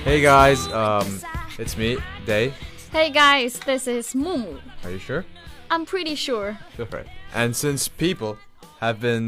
Hey guys, it's me, Day. Hey guys, this is Mumu. Are you sure? I'm pretty sure. Right. And since people have been,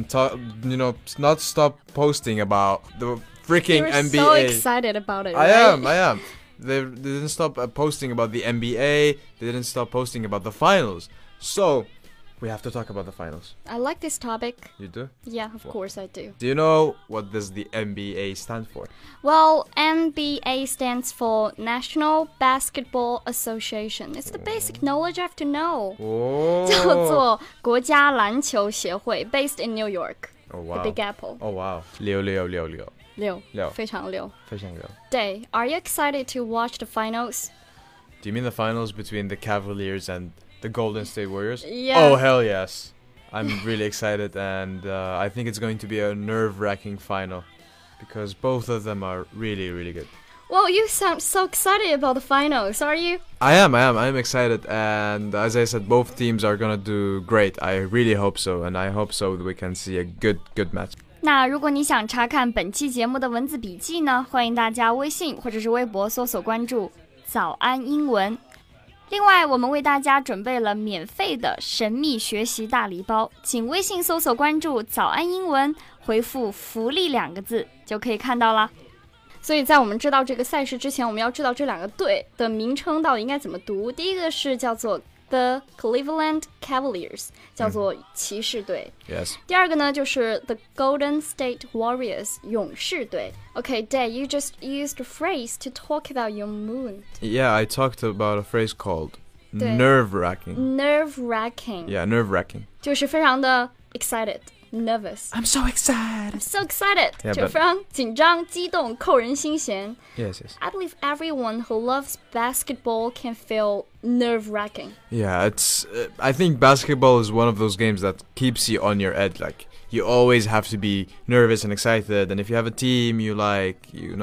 not stop posting about the freaking You're NBA. so excited about it, I right? am. They didn't stop posting about the NBA. They didn't stop posting about the finals. So, we have to talk about the finals. I like this topic. You do? Yeah, of course I do. Do you know what does the NBA stand for? Well, NBA stands for National Basketball Association. It's the basic knowledge I have to know. 叫做国家篮球协会 based in New York. Oh wow. The Big Apple. Oh wow. 六， 六。 非常六。 非常六。 Day, are you excited to watch the finals? Do you mean the finals between the Cavaliers and the Golden State Warriors? Yeah. Oh, hell yes. I'm really excited, and I think it's going to be a nerve-wracking final because both of them are really, really good. Well, you sound so excited about the finals, are you? I am excited, and as I said, both teams are gonna do great. I really hope so, and I hope so that we can see a good match. 那如果你想查看本期节目的文字笔记呢，欢迎大家微信或者是微博搜索关注早安英文。另外，我们为大家准备了免费的神秘学习大礼包，请微信搜索关注早安英文，回复福利2个字就可以看到啦。所以在我们知道这个赛事之前，我们要知道这两个队的名称到底应该怎么读。第一个是叫做 The Cleveland Cavaliers， 叫做骑士队。 Yes. 第二个呢就是 The Golden State Warriors， 勇士队。Okay, Day, you just used a phrase to talk about your mood. Yeah, I talked about a phrase called 对 nerve-wracking. Nerve-wracking. Yeah, nerve-wracking. 就是非常的 excited。Nervous. I'm so excited. So excited. Yeah, 就非常紧张、激动、扣人心弦。 Yes. I believe everyone who loves basketball can feel nerve-wracking. Yeah, I think basketball is one of those games that keeps you on your edge. Like, you always have to be nervous and excited. And if you have a team you like, you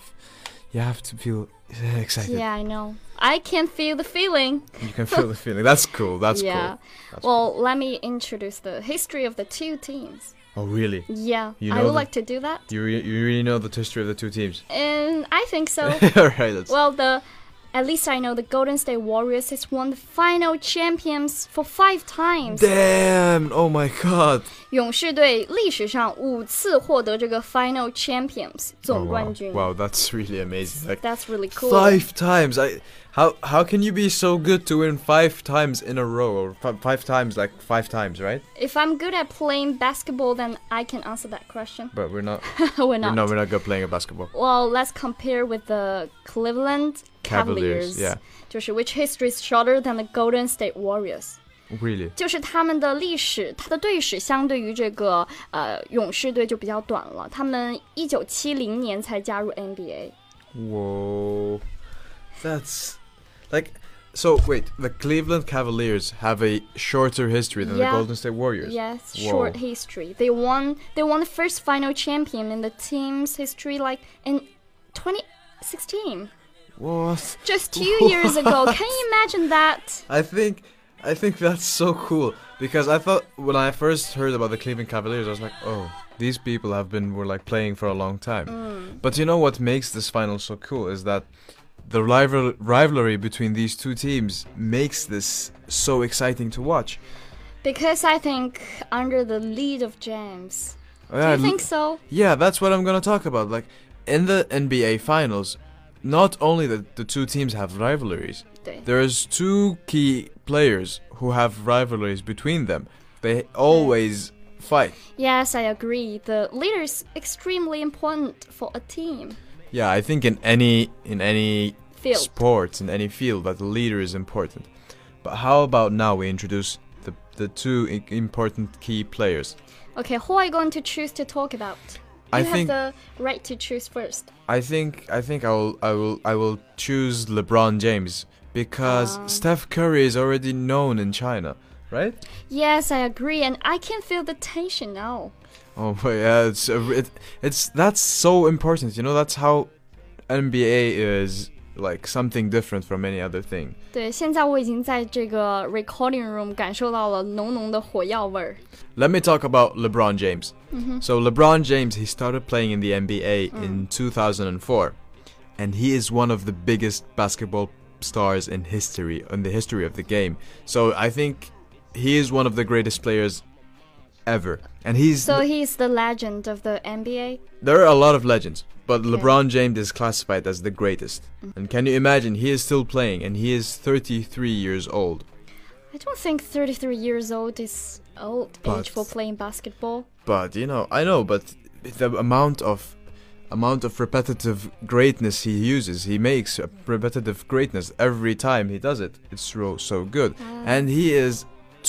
have to feel excited. Yeah, I know. I can feel the feeling. You can feel the feeling. That's cool. That's yeah. cool. Well, let me introduce the history of the two teams. Oh, really? Yeah, You I know would like to do that. You really know the history of the two teams? And I think so. Alright, Well, at least I know the Golden State Warriors has won the final champions for 5 times. Damn! Oh my god! 勇士队历史上5次获得这个 final champions 总冠军。 Wow, that's really amazing. Like, That's really cool. 5 times. How can you be so good to win 5 times in a row, or 5 times, like 5 times, right? If I'm good at playing basketball, then I can answer that question. But we're not. We're not. No, we're not good playing a basketball. Well, let's compare with the Cleveland Cavaliers. Yeah. 就是 which history is shorter than the Golden State Warriors. Really? 就是他们的历史，他的队史相对于这个勇士队就比较短了。他们1970年才加入 NBA。 Whoa. That's like. So wait, the Cleveland Cavaliers have a shorter history than the Golden State Warriors. Yes, Whoa. short history. They won the first final champion in the team's history, like in 2016. What? Just 2 years ago. Can you imagine that? I think that's so cool because I thought when I first heard about the Cleveland Cavaliers, I was like, oh, these people were like playing for a long time. But you know what makes this final so cool is that the rivalry between these two teams makes this so exciting to watch. Because I think under the lead of James. Do you think so? Yeah, that's what I'm gonna talk about. Like in the NBA finals, not only the two teams have rivalries, there's 2 key players who have rivalries between them. They always fight. Yes, I agree. The leader is extremely important for a team. Yeah, I think in any Field. sports, in any field, that the leader is important. But how about now we introduce the 2 important key players? Okay, who are you going to choose to talk about? You have the right to choose first. I think I will choose LeBron James because Steph Curry is already known in China, right? Yes, I agree, and I can feel the tension now. Oh, but yeah, that's so important. You know, that's how NBA is like something different from any other thing. 对，现在我已经在这个 recording room 感受到了浓浓的火药味儿。 Let me talk about LeBron James. So LeBron James, he started playing in the NBA in 2004. and he is one of the biggest basketball stars in the history of the game. So I think he is one of the greatest players ever. And he's the legend of the NBA? There are a lot of legends, but LeBron James is classified as the greatest. And can you imagine, he is still playing, and he is 33 years old. I don't think 33 years old is old age for playing basketball. But, I know, but the amount of repetitive greatness he uses, he makes a repetitive greatness every time he does it. It's so good. And he is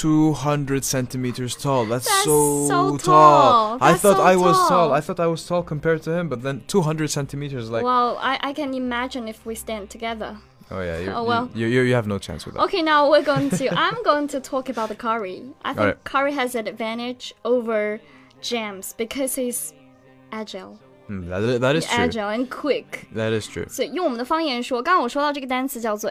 200 centimeters tall. That's so tall. I thought I was tall. I thought I was tall compared to him, but then 200 centimeters, like... Well, I can imagine if we stand together. Oh yeah, you have no chance with that. Okay, now I'm going to talk about the Curry. I think Curry has an advantage over James because he's agile. That is true. Agile and quick. That is true. 所以用我们的方言说，刚刚我说到这个单词叫做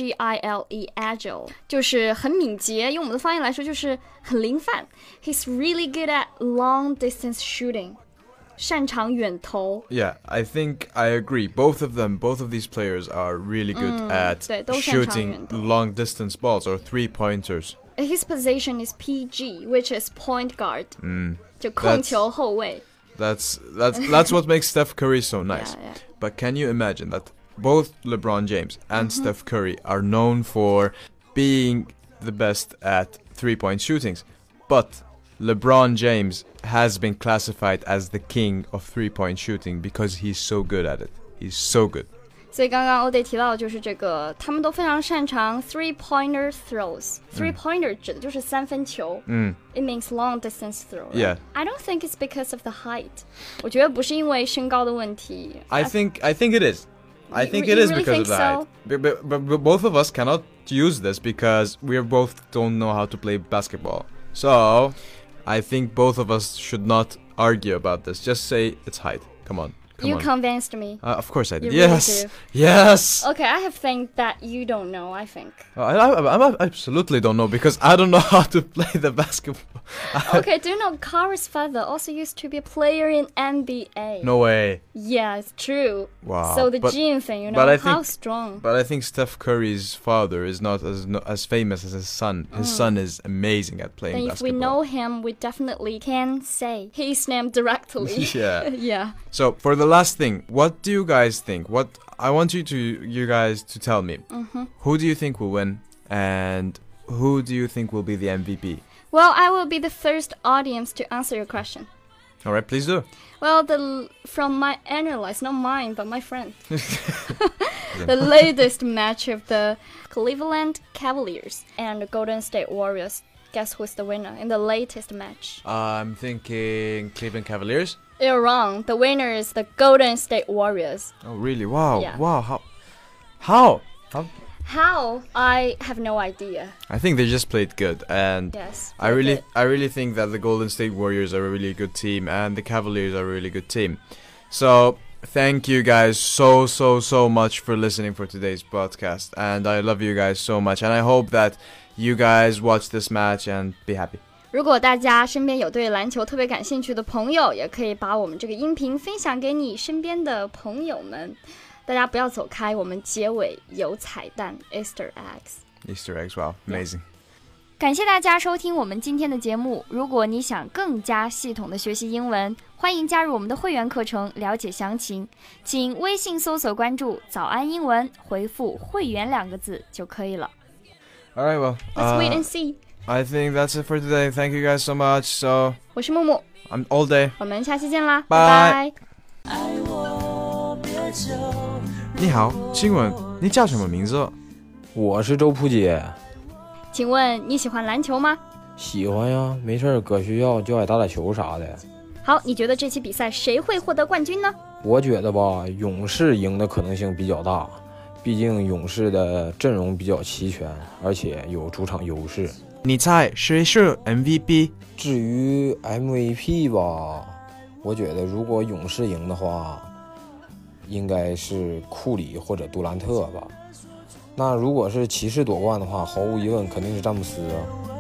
agile，agile 就是很敏捷。用我们的方言来说，就是很灵泛。He's really good at long distance shooting， 擅长远投。 Yeah, I think I agree. Both of these players are really good at shooting long distance balls or 3-pointers. His position is PG, which is point guard. 就控球后卫。 That's what makes Steph Curry so nice. Yeah. But can you imagine that both LeBron James and Steph Curry are known for being the best at 3-point shootings, but LeBron James has been classified as the king of 3-point shooting because he's so good at it. He's so good. 所以刚刚欧弟提到的就是这个，他们都非常擅长 three-pointer throws。Three-pointer 指的就是三分球。It means long distance throw. Yeah. I don't think it's because of the height. 我觉得不是因为身高的问题。 I think it is. I think it is because of the height. But both of us cannot use this because we both don't know how to play basketball. So I think both of us should not argue about this. Just say it's height. Come on. You convinced me. Of course I did. Yes. Yes. Okay, I have things that you don't know, I think. I absolutely don't know because I don't know how to play the basketball. Okay, do you know Curry's father also used to be a player in NBA? No way. Yeah, it's true. Wow. So the gene thing, how strong. But I think Steph Curry's father is not as famous as his son. His son is amazing at playing basketball. If we know him, we definitely can say his name directly. Yeah. Yeah. So for the last thing, what do you guys think? I want you guys to tell me. Who do you think will win, and who do you think will be the MVP? Well, I will be the first audience to answer your question. All right, please do. Well, from my analysis, not mine, but my friend, the latest match of the Cleveland Cavaliers and the Golden State Warriors. Guess who's the winner in the latest match? I'm thinking Cleveland Cavaliers. You're wrong. The winner is the Golden State Warriors. Oh, really? Wow. Yeah. Wow. How? How? I have no idea. I think they just played good, and yes, I really think that the Golden State Warriors are a really good team, and the Cavaliers are a really good team. So thank you guys so much for listening for today's podcast, and I love you guys so much, and I hope that you guys watch this match and be happy. 如果大家身边有对篮球特别感兴趣的朋友，也可以把我们这个音频分享给你身边的朋友们。大家不要走开，我们结尾有彩蛋 Easter eggs。 Wow, amazing. 感谢大家收听我们今天的节目。如果你想更加系统的学习英文，欢迎加入我们的会员课程，了解详情。请微信搜索关注早安英文，回复会员2个字就可以了。 All right, well, let's wait and see. I think that's it for today. Thank you guys so much. So 我是木木， I'm all day. 我们下期见啦， Bye. 拜拜。 你好，请问你叫什么名字？ 我是周普杰。 请问你喜欢篮球吗？ 喜欢呀，没事搁学校就爱打打球啥的。 好，你觉得这期比赛谁会获得冠军呢？ 我觉得吧，勇士赢的可能性比较大，毕竟勇士的阵容比较齐全，而且有主场优势。 你猜谁是 MVP？ 至于 MVP 吧，我觉得如果勇士赢的话，应该是库里或者杜兰特吧。那如果是骑士夺冠的话，毫无疑问肯定是詹姆斯。